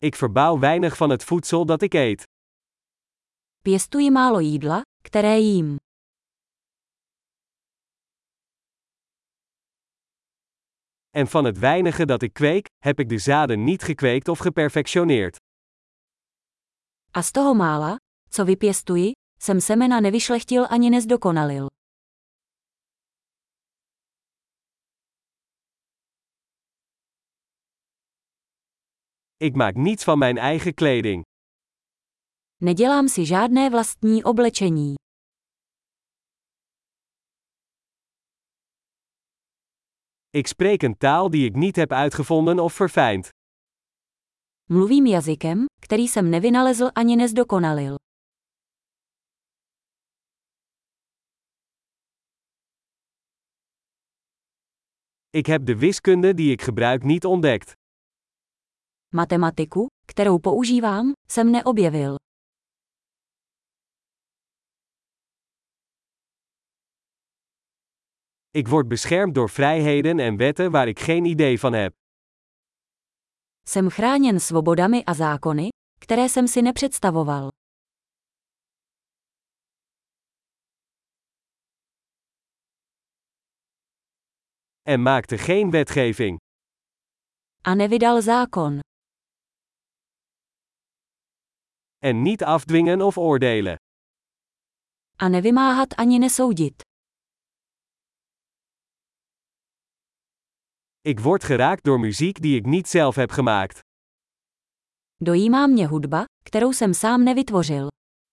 Ik verbouw weinig van het voedsel dat ik eet. Pěstuji málo jídla, které jím. En van het weinige dat ik kweek, heb ik de zaden niet gekweekt of geperfectioneerd. A z toho mála, co vypěstuji, jsem semena nevyšlechtil ani nezdokonalil. Ik maak niets van mijn eigen kleding. Nedělám si žádné vlastní oblečení. Ik spreek een taal die ik niet heb uitgevonden of verfijnd. Mluvím jazykem, který jsem nevynalezl ani nezdokonalil. Ik heb de wiskunde die ik gebruik niet ontdekt. Matematiku, kterou používám, jsem neobjevil. Ik word beschermd door vrijheden en wetten waar ik geen idee van heb. Jsem chráněn svobodami a zákony, které jsem si nepředstavoval. En maakte geen wetgeving. A nevydal zákon. En niet afdwingen of oordelen. A nevymáhat ani nesoudit. Ik word geraakt door muziek die ik niet zelf heb gemaakt. Dojímá mě hudba, kterou jsem sám nevytvořil.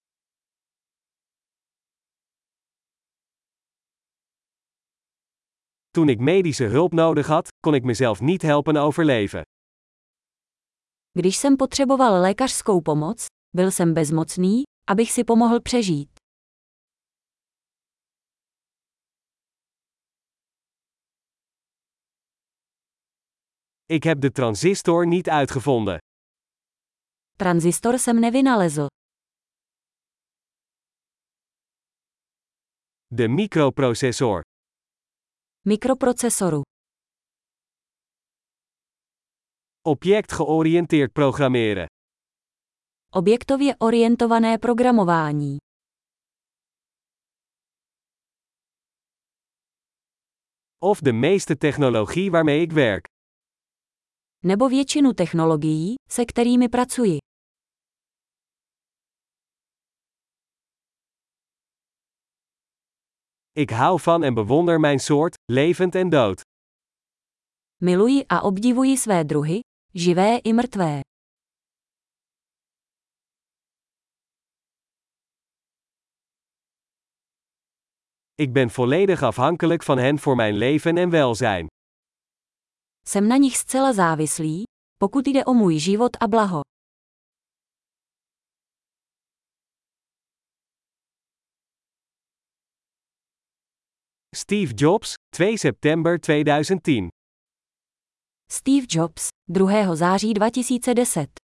Toen ik medische hulp nodig had, kon ik mezelf niet helpen overleven. Když jsem potřeboval lékařskou pomoc, byl jsem bezmocný, abych si pomohl přežít. Ik heb de transistor niet uitgevonden. Tranzistor jsem nevynalezl. De microprocessor. Mikroprocesoru. Objectgeoriënteerd programmeren. Objektově orientované programování. Of de meeste technologie waarmee ik werk. Nebo většinu technologií, se kterými pracuji. Ik hou van en bewonder mijn soort, levend en dood. Miluji a obdivuji své druhy, živé i mrtvé. Ik ben volledig afhankelijk van hen voor mijn leven en welzijn. Jsem na nich zcela závislý, pokud jde o můj život a blaho. Steve Jobs, 2 september 2010. Steve Jobs, 2. září 2010.